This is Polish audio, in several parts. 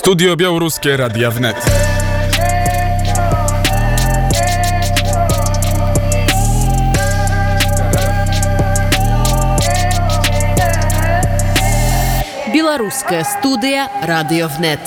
Studio Białoruskie Radia Wnet. Białoruskie Studia Radio Wnet.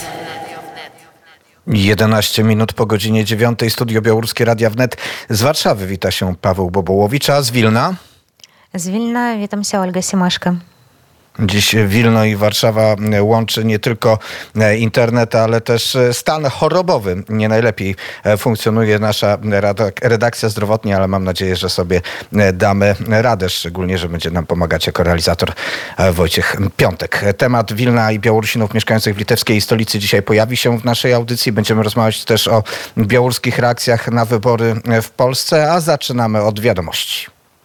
11 minut po godzinie 9. Studio Białoruskie Radia Wnet. Z Warszawy wita się Paweł Bobołowicz, a z Wilna? Z Wilna witam się, Olga Siemaszka. Dziś Wilno i Warszawa łączy nie tylko internet, ale też stan chorobowy. Nie najlepiej funkcjonuje nasza redakcja zdrowotnie, ale mam nadzieję, że sobie damy radę, szczególnie, że będzie nam pomagać jako realizator Wojciech Piątek. Temat Wilna i Białorusinów mieszkających w litewskiej stolicy dzisiaj pojawi się w naszej audycji. Będziemy rozmawiać też o białoruskich reakcjach na wybory w Polsce, a zaczynamy od wiadomości.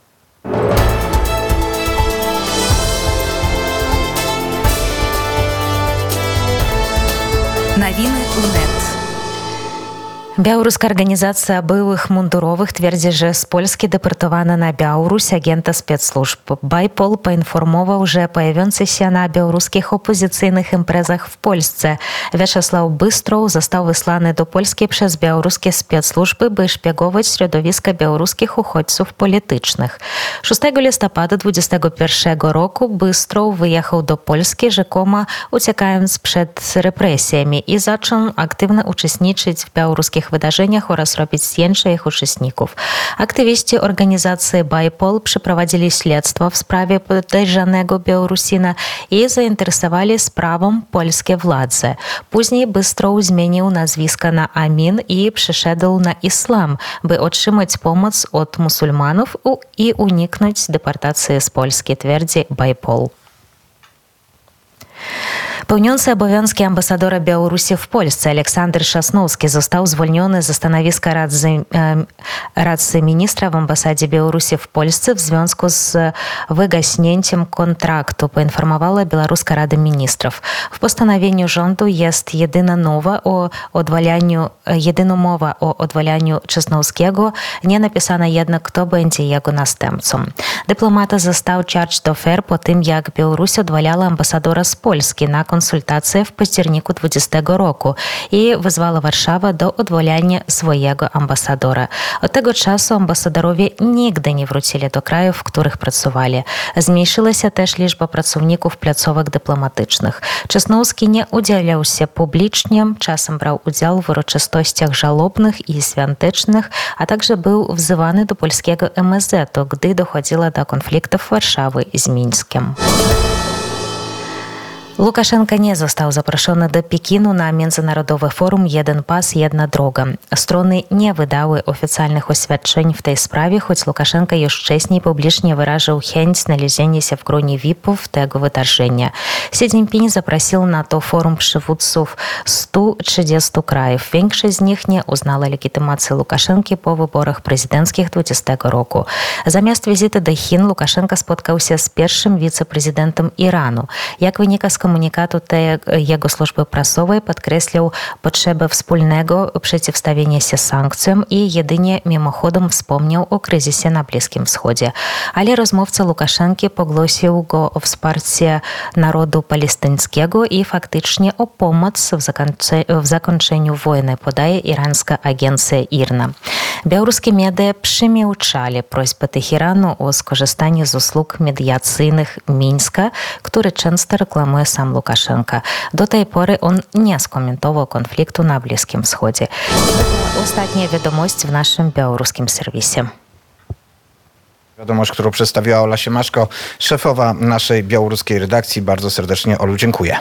Новины УНЕТ. Białoruska Organizacja Byłych Mundurowych twierdzi, że z Polski deportowano na Białoruś agenta spецслужb. Bajpol poinformował, że pojawiający się na białoruskich opozycyjnych imprezach w Polsce Wiaczesław Bystrow został wysłany do Polski przez białoruskie spецслужby, by szpiegować środowiska białoruskich uchodźców politycznych. 6 listopada 2021 roku Bystrow wyjechał do Polski, rzekomo uciekając przed represjami i zaczął aktywnie uczestniczyć w białoruskich wydarzeniach oraz robić zdjęcia ich uczestników. Aktywiści organizacji Bajpol przeprowadzili śledztwo w sprawie podejrzanego Białorusina i zainteresowali sprawą polskie władze. Później Bystrow zmienił nazwisko na Amin i przeszedł na islam, by otrzymać pomoc od muzułmanów i uniknąć deportacji z Polski, twierdzi Bajpol. Pełniący obowiązki ambasadora Białorusi w Polsce Aleksander Szasnowski został zwolniony ze stanowiska radcy ministra w ambasadzie Białorusi w Polsce w związku z wygaśnięciem kontraktu, poinformowała Białoruska Rada Ministrów. W postanowieniu rządu jest jedyna mowa o odwalaniu Szasnowskiego, nie napisano jednak, kto będzie jego następcą. Dyplomata został charged d'affaires po tym, jak Białoruś odwalała ambasadora z Polski na konsultacje w październiku 2020 roku i wezwała Warszawę do odwołania swojego ambasadora. Od tego czasu ambasadorowie nigdy nie wrócili do krajów, w których pracowali. Zmniejszyła się też liczba pracowników placówek dyplomatycznych. Czesnowski nie udzielał się publicznie, czasem brał udział w uroczystościach żałobnych i świątecznych, a także był wzywany do polskiego MSZ-u, gdy dochodziło do konfliktów Warszawy z Mińskiem. Łukaszenka nie został zaproszony do Pekinu na międzynarodowe forum Jeden Pas, Jedna Droga. Strony nie wydały oficjalnych oświadczeń w tej sprawie, choć Łukaszenka już wcześniej publicznie wyraził chęć znalezienia się w gronie VIP-ów tego wydarzenia. Xi Jinping zaprosił na to forum przywódców 130 krajów. Większość z nich nie uznała legitymacji Łukaszenki po wyborach prezydenckich 2020 roku. Zamiast wizyty do Chin Łukaszenka spotkał się z pierwszym wiceprezydentem Iranu. Jak wynika z komunikatu jego służby prasowej, podkreślił potrzebę wspólnego przeciwstawienia się sankcjom i jedynie mimochodem wspomniał o kryzysie na Bliskim Wschodzie. Ale rozmówca Łukaszenki poglosił go o wsparcie narodu palestyńskiego i faktycznie o pomoc w zakończeniu wojny, podaje irańska agencja IRNA. Białoruskie media przemilczali prośbę Teheranu o skorzystanie z usług mediacyjnych Mińska, który często reklamuje sam Łukaszenka. Do tej pory on nie skomentował konfliktu na Bliskim Wschodzie. Ostatnia wiadomość w naszym białoruskim serwisie. Wiadomość, którą przedstawiła Ola Siemaszko, szefowa naszej białoruskiej redakcji. Bardzo serdecznie, Olu, dziękuję.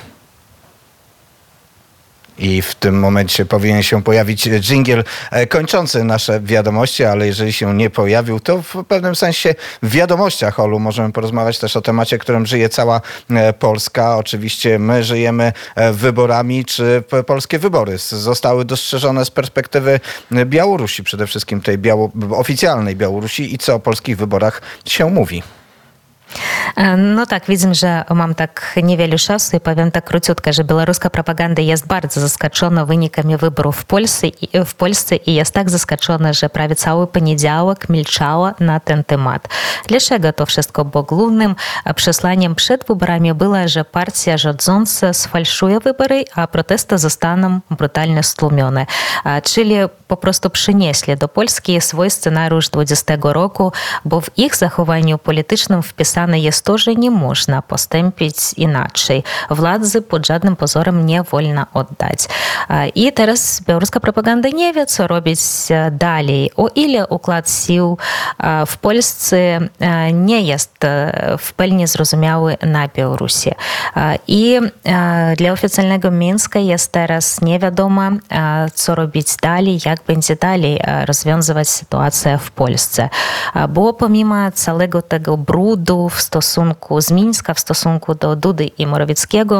I w tym momencie powinien się pojawić dżingiel kończący nasze wiadomości, ale jeżeli się nie pojawił, to w pewnym sensie w wiadomościach, Olu, możemy porozmawiać też o temacie, którym żyje cała Polska. Oczywiście my żyjemy wyborami. Czy polskie wybory zostały dostrzeżone z perspektywy Białorusi, przede wszystkim tej oficjalnej Białorusi, i co o polskich wyborach się mówi? No tak, widzimy, że mam tak niewiele czasu i powiem tak króciutko, że białoruska propaganda jest bardzo zaskoczona wynikami wyborów w Polsce i jest tak zaskoczona, że prawie cały poniedziałek milczała na ten temat. Dlaczego to wszystko? Bo głównym przesłaniem przed wyborami było, że partia rządząca sfalszuje wybory, a protesty zostaną brutalnie stłumione. Czyli po prostu przynieśli do Polski swój scenariusz 20 roku, bo w ich zachowaniu politycznym wpisane jest to, że nie można postąpić inaczej. Władzy pod żadnym pozorem nie wolno oddać. I teraz białoruska propaganda nie wie, co robić dalej. O ile układ sił w Polsce nie jest w pełni zrozumiały na Białorusi. I dla oficjalnego Mińska jest teraz nie wiadomo, co robić dalej, jak będzie dalej rozwiązywać sytuację w Polsce. Bo pomimo całego tego brudu w stosunku z Mińska, w stosunku do Dudy i Morawieckiego,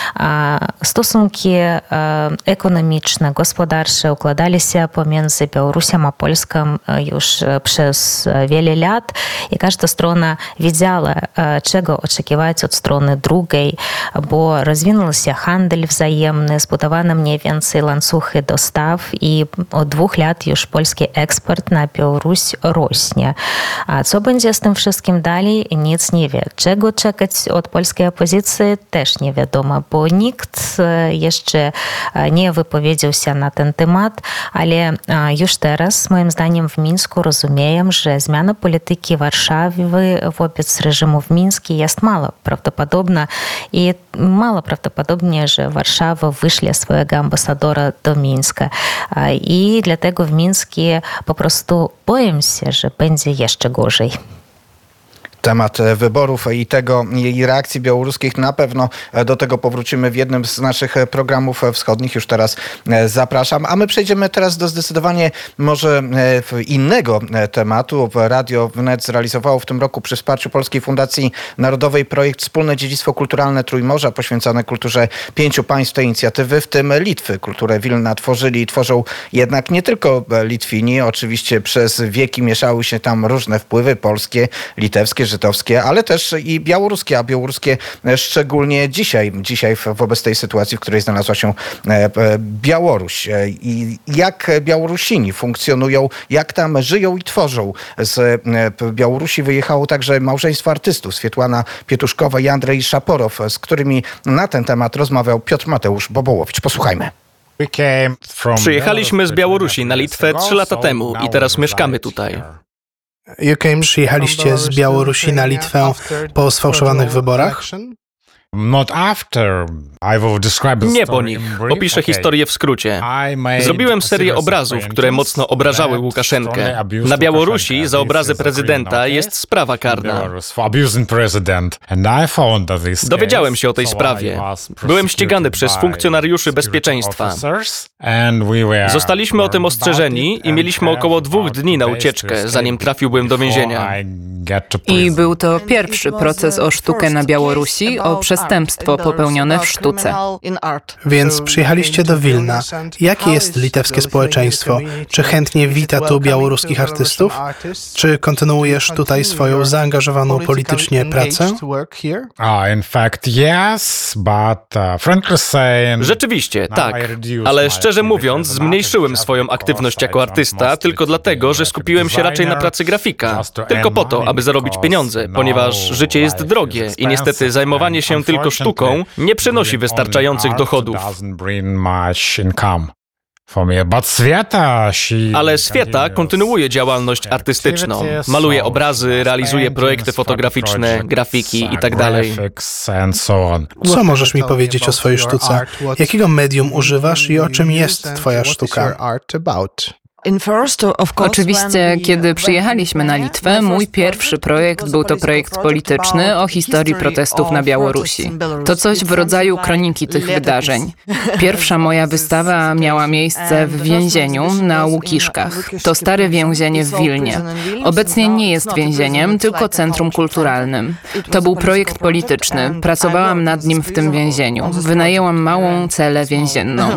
stosunki ekonomiczne, gospodarcze układali się pomiędzy Białorusią a Polską już przez wiele lat i każda strona wiedziała, czego oczekiwać od strony drugiej, bo rozwinął się handel wzajemny, zbudowano mniej więcej łańcuchy dostaw i od 2 lat już polski eksport na Białoruś rośnie. A co będzie z tym wszystkim dalej? Nic nie wie. Czego czekać od polskiej opozycji? Też nie wiadomo, bo nikt jeszcze nie wypowiedział się na ten temat, ale już teraz, moim zdaniem, w Mińsku rozumieją, że zmiana polityki Warszawy wobec reżimu w Mińsku jest mało prawdopodobna i mało prawdopodobnie, że Warszawa wyśle swojego ambasadora do Mińska. I dlatego w Mińsku po prostu boję się, że będzie jeszcze gorzej. Temat wyborów i reakcji białoruskich. Na pewno do tego powrócimy w jednym z naszych programów wschodnich. Już teraz zapraszam. A my przejdziemy teraz do zdecydowanie może innego tematu. Radio Wnet zrealizowało w tym roku przy wsparciu Polskiej Fundacji Narodowej projekt Wspólne Dziedzictwo Kulturalne Trójmorza poświęcone kulturze 5 państw tej inicjatywy, w tym Litwy. Kulturę Wilna tworzyli i tworzą jednak nie tylko Litwini. Oczywiście przez wieki mieszały się tam różne wpływy polskie, litewskie, żydowskie, ale też i białoruskie, a białoruskie szczególnie dzisiaj wobec tej sytuacji, w której znalazła się Białoruś. I jak Białorusini funkcjonują, jak tam żyją i tworzą. Z Białorusi wyjechało także małżeństwo artystów, Swietłana Pietuszkowa i Andrzej Szaporow, z którymi na ten temat rozmawiał Piotr Mateusz Bobołowicz. Posłuchajmy. Przyjechaliśmy z Białorusi na Litwę 3 lata temu i teraz mieszkamy tutaj. Przyjechaliście z Białorusi na Litwę po sfałszowanych wyborach? Nie po nich. Opiszę historię w skrócie. Zrobiłem serię obrazów, które mocno obrażały Łukaszenkę. Na Białorusi za obrazy prezydenta jest sprawa karna. Dowiedziałem się o tej sprawie. Byłem ścigany przez funkcjonariuszy bezpieczeństwa. Zostaliśmy o tym ostrzeżeni i mieliśmy około 2 dni na ucieczkę, zanim trafiłbym do więzienia. I był to pierwszy proces o sztukę na Białorusi, o przestępstwo popełnione w sztuce. Więc przyjechaliście do Wilna. Jakie jest litewskie społeczeństwo? Czy chętnie wita tu białoruskich artystów? Czy kontynuujesz tutaj swoją zaangażowaną politycznie pracę? Rzeczywiście, tak. Ale szczerze mówiąc, zmniejszyłem swoją aktywność jako artysta tylko dlatego, że skupiłem się raczej na pracy grafika. Tylko po to, aby zarobić pieniądze, ponieważ życie jest drogie i niestety zajmowanie się tylko sztuką nie przynosi wystarczających dochodów. Ale Swieta kontynuuje działalność artystyczną. Maluje obrazy, realizuje projekty fotograficzne, grafiki itd. Co możesz mi powiedzieć o swojej sztuce? Jakiego medium używasz i o czym jest twoja sztuka? Oczywiście, kiedy przyjechaliśmy na Litwę, mój pierwszy projekt był to projekt polityczny o historii protestów na Białorusi. To coś w rodzaju kroniki tych wydarzeń. Pierwsza moja wystawa miała miejsce w więzieniu na Łukiszkach. To stare więzienie w Wilnie. Obecnie nie jest więzieniem, tylko centrum kulturalnym. To był projekt polityczny. Pracowałam nad nim w tym więzieniu. Wynajęłam małą celę więzienną.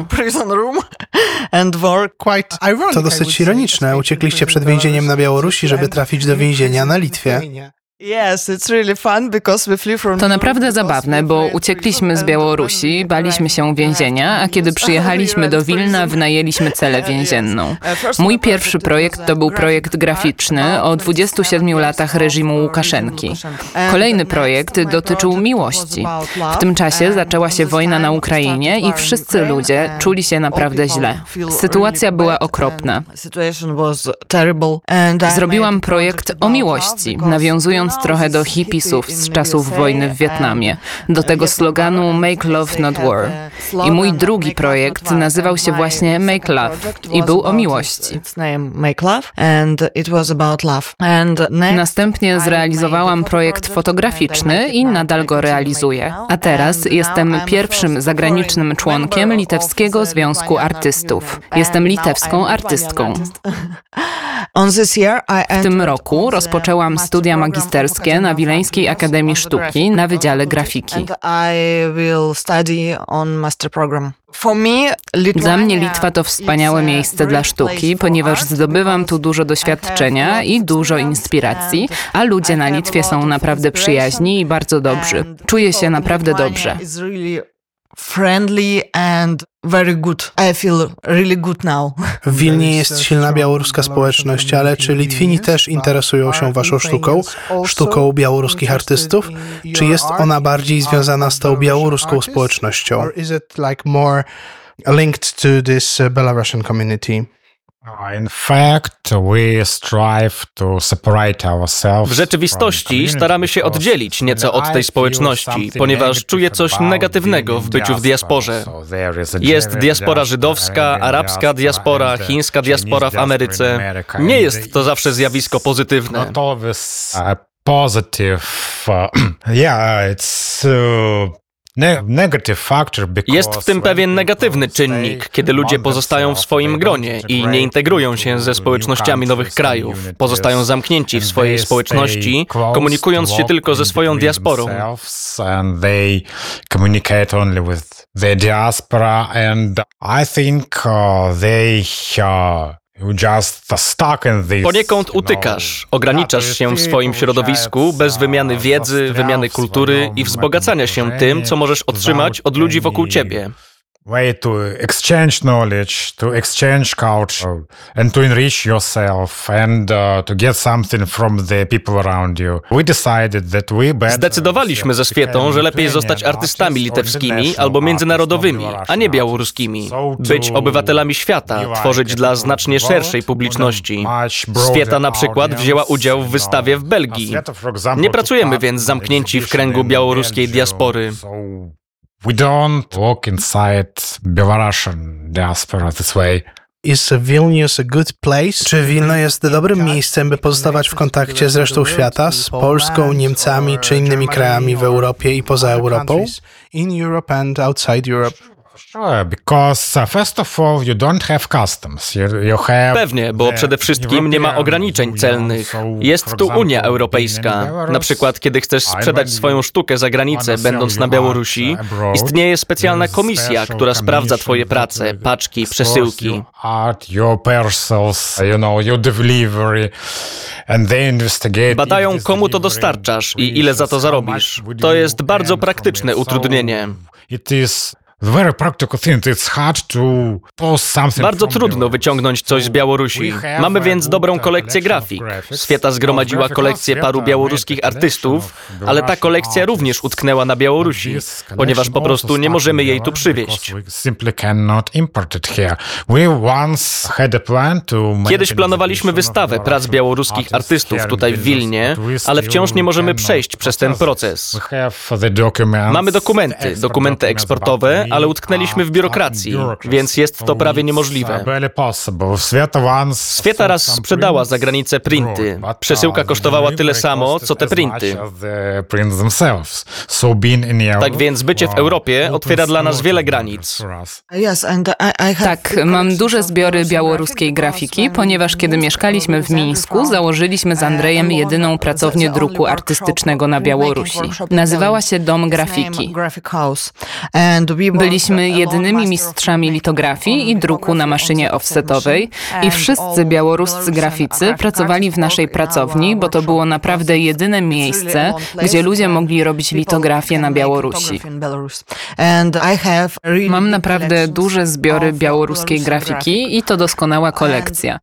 To dosyć ironiczne. Uciekliście przed więzieniem na Białorusi, żeby trafić do więzienia na Litwie. To naprawdę zabawne, bo uciekliśmy z Białorusi, baliśmy się więzienia, a kiedy przyjechaliśmy do Wilna, wynajęliśmy celę więzienną. Mój pierwszy projekt to był projekt graficzny o 27 latach reżimu Łukaszenki. Kolejny projekt dotyczył miłości. W tym czasie zaczęła się wojna na Ukrainie i wszyscy ludzie czuli się naprawdę źle. Sytuacja była okropna. Zrobiłam projekt o miłości, nawiązując trochę do hipisów z czasów wojny w Wietnamie, do tego sloganu Make Love Not War. I mój drugi projekt nazywał się właśnie Make Love i był o miłości. Następnie zrealizowałam projekt fotograficzny i nadal go realizuję. A teraz jestem pierwszym zagranicznym członkiem Litewskiego Związku Artystów. Jestem litewską artystką. W tym roku rozpoczęłam studia magisterskie na Wileńskiej Akademii Sztuki na Wydziale Grafiki. Dla mnie Litwa to wspaniałe miejsce dla sztuki, ponieważ zdobywam tu dużo doświadczenia i dużo inspiracji, a ludzie na Litwie są naprawdę przyjaźni i bardzo dobrzy. Czuję się naprawdę dobrze. W Wilnie jest silna białoruska społeczność, ale czy Litwini też interesują się waszą sztuką, sztuką białoruskich artystów? Czy jest ona bardziej związana z tą białoruską społecznością? Linked to this Belarusian community? W rzeczywistości staramy się oddzielić nieco od tej społeczności, ponieważ czuję coś negatywnego w byciu w diasporze. Jest diaspora żydowska, arabska diaspora, chińska diaspora w Ameryce. Nie jest to zawsze zjawisko pozytywne. Jest w tym pewien negatywny czynnik, kiedy ludzie pozostają w swoim gronie i nie integrują się ze społecznościami nowych krajów. Pozostają zamknięci w swojej społeczności, komunikując się tylko ze swoją diasporą. Poniekąd utykasz, ograniczasz się w swoim środowisku bez wymiany wiedzy, wymiany kultury i wzbogacania się tym, co możesz otrzymać od ludzi wokół ciebie. Way to exchange knowledge, to exchange culture, and to enrich yourself, and to get something from the people around you. We decided that we better. Zdecydowaliśmy ze Swietą, że lepiej zostać artystami litewskimi albo międzynarodowymi, a nie białoruskimi. Być obywatelami świata, tworzyć dla znacznie szerszej publiczności. Swieta na przykład wzięła udział w wystawie w Belgii. Nie pracujemy więc zamknięci w kręgu białoruskiej diaspory. We don't walk inside Belarusian diaspora this way. Is Vilnius a good place? Czy Wilno jest dobrym miejscem, by pozostawać w kontakcie z resztą świata, z Polską, Niemcami czy innymi krajami w Europie i poza Europą? In Europe and outside Europe. Pewnie, bo przede wszystkim nie ma ograniczeń celnych. Jest tu Unia Europejska. Na przykład, kiedy chcesz sprzedać swoją sztukę za granicę, będąc na Białorusi, istnieje specjalna komisja, która sprawdza twoje prace, paczki, przesyłki. Badają, komu to dostarczasz i ile za to zarobisz. To jest bardzo praktyczne utrudnienie. Bardzo trudno wyciągnąć coś z Białorusi. Mamy więc dobrą kolekcję grafik. Swieta zgromadziła kolekcję paru białoruskich artystów, ale ta kolekcja również utknęła na Białorusi, ponieważ po prostu nie możemy jej tu przywieźć. Kiedyś planowaliśmy wystawę prac białoruskich artystów tutaj w Wilnie, ale wciąż nie możemy przejść przez ten proces. Mamy dokumenty eksportowe, ale utknęliśmy w biurokracji, więc jest to prawie niemożliwe. Swieta raz sprzedała za granicę printy. Przesyłka kosztowała tyle samo, co te printy. Tak więc bycie w Europie otwiera dla nas wiele granic. Tak, mam duże zbiory białoruskiej grafiki, ponieważ kiedy mieszkaliśmy w Mińsku, założyliśmy z Andrejem jedyną pracownię druku artystycznego na Białorusi. Nazywała się Dom Grafiki. Byliśmy jedynymi mistrzami litografii i druku na maszynie offsetowej i wszyscy białoruscy graficy pracowali w naszej pracowni, bo to było naprawdę jedyne miejsce, gdzie ludzie mogli robić litografię na Białorusi. Mam naprawdę duże zbiory białoruskiej grafiki i to doskonała kolekcja.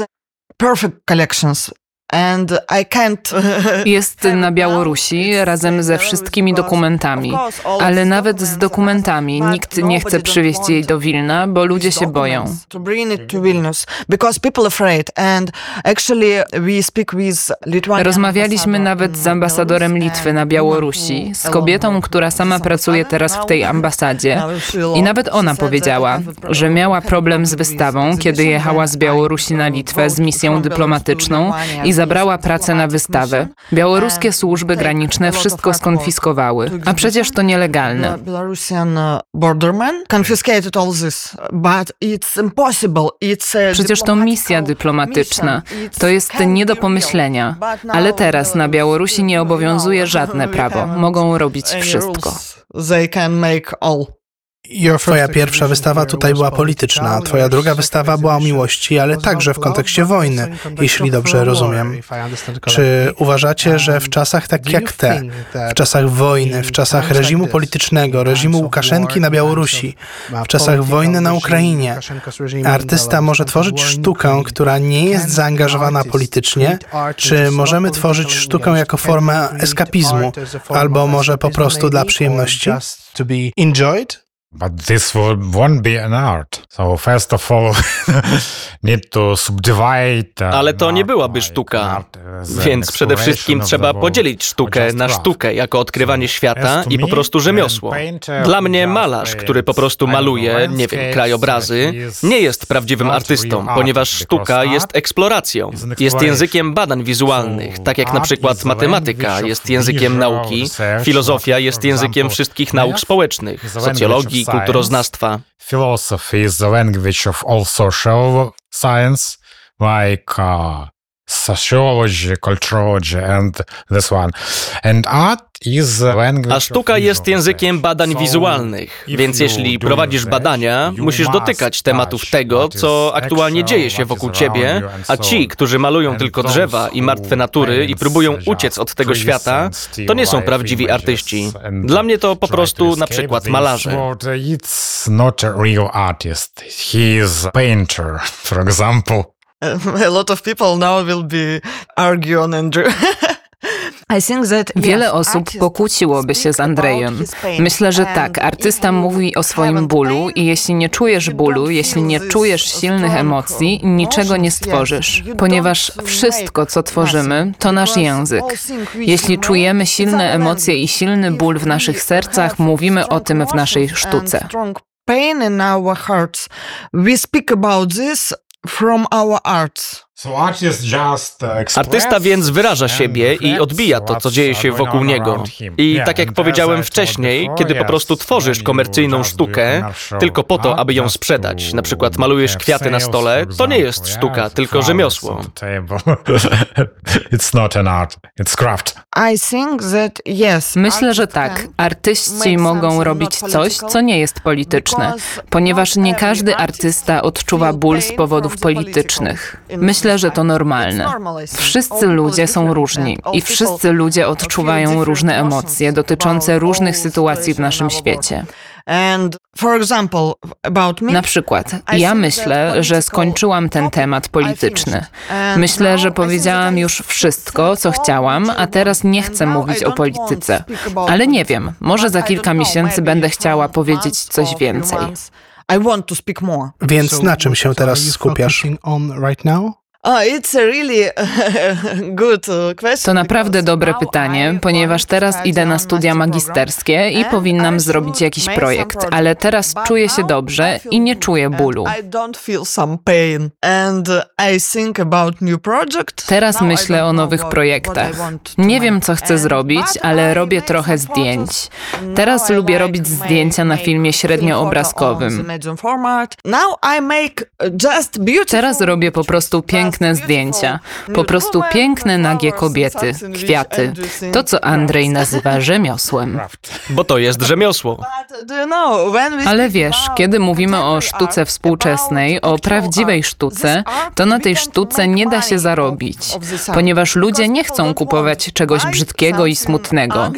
Jest na Białorusi razem ze wszystkimi dokumentami, ale nawet z dokumentami nikt nie chce przywieźć jej do Wilna, bo ludzie się boją. Rozmawialiśmy nawet z ambasadorem Litwy na Białorusi, z kobietą, która sama pracuje teraz w tej ambasadzie i nawet ona powiedziała, że miała problem z wystawą, kiedy jechała z Białorusi na Litwę z misją dyplomatyczną i zabrała pracę na wystawę. Białoruskie służby graniczne wszystko skonfiskowały, a przecież to nielegalne. Przecież to misja dyplomatyczna. To jest nie do pomyślenia. Ale teraz na Białorusi nie obowiązuje żadne prawo. Mogą robić wszystko. Twoja pierwsza wystawa tutaj była polityczna, twoja druga wystawa była o miłości, ale także w kontekście wojny, jeśli dobrze rozumiem. Czy uważacie, że w czasach tak jak te, w czasach wojny, w czasach reżimu politycznego, reżimu Łukaszenki na Białorusi, w czasach wojny na Ukrainie, artysta może tworzyć sztukę, która nie jest zaangażowana politycznie? Czy możemy tworzyć sztukę jako formę eskapizmu, albo może po prostu dla przyjemności? But this won't be an art. So first of all, need to subdivide. Ale to nie byłaby sztuka. Więc przede wszystkim trzeba podzielić sztukę na sztukę jako odkrywanie świata i po prostu rzemiosło. Dla mnie malarz, który po prostu maluje, nie wiem, krajobrazy, nie jest prawdziwym artystą, ponieważ sztuka jest eksploracją. Jest językiem badań wizualnych, tak jak na przykład matematyka jest językiem nauki, filozofia jest językiem wszystkich nauk społecznych, socjologii, kulturoznawstwa. Philosophy is the language of all social science, like sociology, culturology and this one. And art is the language. A sztuka jest językiem badań wizualnych, więc jeśli prowadzisz badania, musisz dotykać tematów tego, co aktualnie dzieje się wokół ciebie, a ci, którzy malują tylko drzewa i martwe natury i próbują uciec od tego świata, to nie są prawdziwi artyści. Dla mnie to po prostu na przykład malarze. It's not a real artist. He is a painter, for example. A lot of people now will be arguing and Wiele osób pokłóciłoby się z Andrejem. Myślę, że tak, artysta mówi o swoim bólu i jeśli nie czujesz bólu, jeśli nie czujesz silnych emocji, niczego nie stworzysz, ponieważ wszystko, co tworzymy, to nasz język. Jeśli czujemy silne emocje i silny ból w naszych sercach, mówimy o tym w naszej sztuce. From our arts. Artysta więc wyraża siebie i odbija to, co dzieje się wokół niego. I tak jak powiedziałem wcześniej, kiedy po prostu tworzysz komercyjną sztukę tylko po to, aby ją sprzedać, na przykład malujesz kwiaty na stole, to nie jest sztuka, tylko rzemiosło. Myślę, że tak. Artyści mogą robić coś, co nie jest polityczne, ponieważ nie każdy artysta odczuwa ból z powodów politycznych. Myślę, że to normalne. Wszyscy ludzie są różni i wszyscy ludzie odczuwają różne emocje dotyczące różnych sytuacji w naszym świecie. Na przykład, ja myślę, że skończyłam ten temat polityczny. Myślę, że powiedziałam już wszystko, co chciałam, a teraz nie chcę mówić o polityce. Ale nie wiem, może za kilka miesięcy będę chciała powiedzieć coś więcej. Więc na czym się teraz skupiasz? To naprawdę dobre pytanie, ponieważ teraz idę na studia magisterskie i powinnam zrobić jakiś projekt, ale teraz czuję się dobrze i nie czuję bólu. Teraz myślę o nowych projektach. Nie wiem, co chcę zrobić, ale robię trochę zdjęć. Teraz lubię robić zdjęcia na filmie średnioobrazkowym. Teraz robię po prostu piękne piękne zdjęcia. Po prostu piękne, nagie kobiety, kwiaty. To, co Andrzej nazywa rzemiosłem. Bo to jest rzemiosło. Ale wiesz, kiedy mówimy o sztuce współczesnej, o prawdziwej sztuce, to na tej sztuce nie da się zarobić, ponieważ ludzie nie chcą kupować czegoś brzydkiego i smutnego.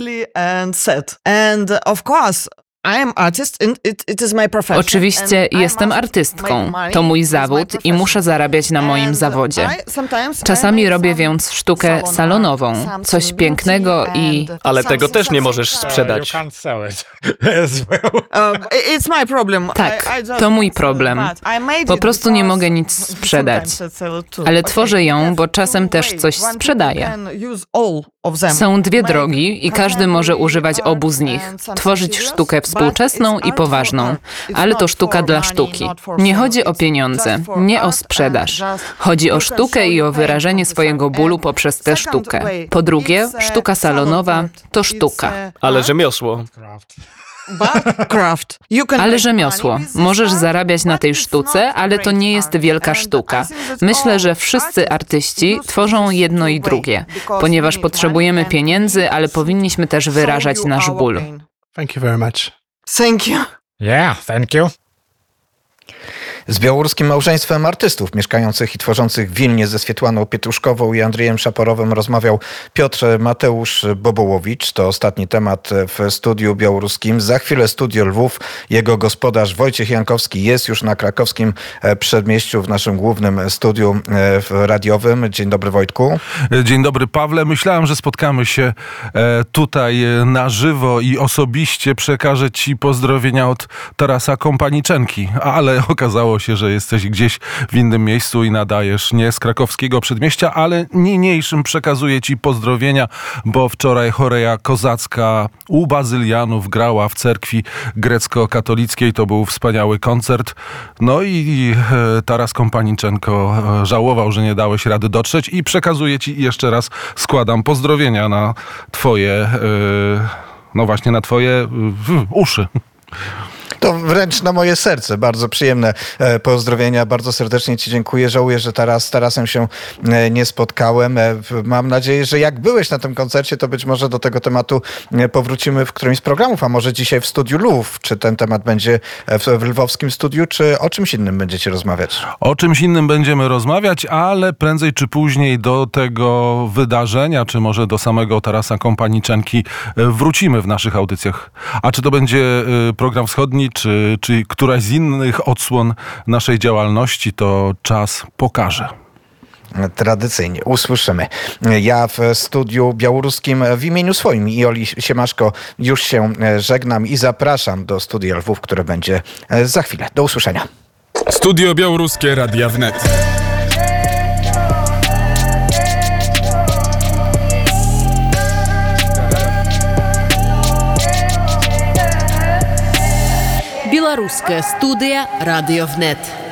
Oczywiście jestem artystką. To mój zawód i muszę zarabiać na moim zawodzie. Czasami robię więc sztukę salonową, coś pięknego i... Ale tego też nie możesz sprzedać. Tak, to mój problem. Po prostu nie mogę nic sprzedać. Ale tworzę ją, bo czasem też coś sprzedaję. Są dwie drogi i każdy może używać obu z nich. Tworzyć sztukę współczesną i poważną. Ale to sztuka dla sztuki. Nie chodzi o pieniądze, nie o sprzedaż. Chodzi o sztukę i o wyrażenie swojego bólu poprzez tę sztukę. Po drugie, sztuka salonowa to sztuka. Ale rzemiosło. Ale rzemiosło. Możesz zarabiać na tej sztuce, ale to nie jest wielka sztuka. Myślę, że wszyscy artyści tworzą jedno i drugie, ponieważ potrzebujemy pieniędzy, ale powinniśmy też wyrażać nasz ból. Thank you very much. Thank you. Yeah, thank you. Z białoruskim małżeństwem artystów mieszkających i tworzących w Wilnie ze Swietłaną Pietruszkową i Andrzejem Szaporowym rozmawiał Piotr Mateusz Bobołowicz. To ostatni temat w studiu białoruskim. Za chwilę Studio Lwów. Jego gospodarz Wojciech Jankowski jest już na krakowskim przedmieściu w naszym głównym studiu radiowym. Dzień dobry, Wojtku. Dzień dobry, Pawle. Myślałem, że spotkamy się tutaj na żywo i osobiście przekażę Ci pozdrowienia od Tarasa Kompaniczenki, ale okazało się, że jesteś gdzieś w innym miejscu i nadajesz nie z krakowskiego przedmieścia, ale niniejszym przekazuję Ci pozdrowienia, bo wczoraj choreja kozacka u Bazylianów grała w cerkwi grecko-katolickiej. To był wspaniały koncert. No i Taras Kompaniczenko żałował, że nie dałeś rady dotrzeć i przekazuję Ci jeszcze raz, składam pozdrowienia na Twoje, no właśnie na Twoje uszy. To wręcz na moje serce. Bardzo przyjemne pozdrowienia. Bardzo serdecznie Ci dziękuję. Żałuję, że z Tarasem się nie spotkałem. Mam nadzieję, że jak byłeś na tym koncercie, to być może do tego tematu powrócimy w którymś z programów, a może dzisiaj w Studiu Lwów. Czy ten temat będzie w lwowskim studiu, czy o czymś innym będziecie rozmawiać? O czymś innym będziemy rozmawiać, ale prędzej czy później do tego wydarzenia, czy może do samego Tarasa Kompaniczenki wrócimy w naszych audycjach. A czy to będzie program wschodni, czy któraś z innych odsłon naszej działalności, to czas pokaże. Tradycyjnie usłyszymy. Ja w studiu białoruskim w imieniu swoim i Oli Siemaszko już się żegnam i zapraszam do Studia Lwów, które będzie za chwilę. Do usłyszenia. Studio Białoruskie Radia Wnet. Белорусская студия «Радиовнет».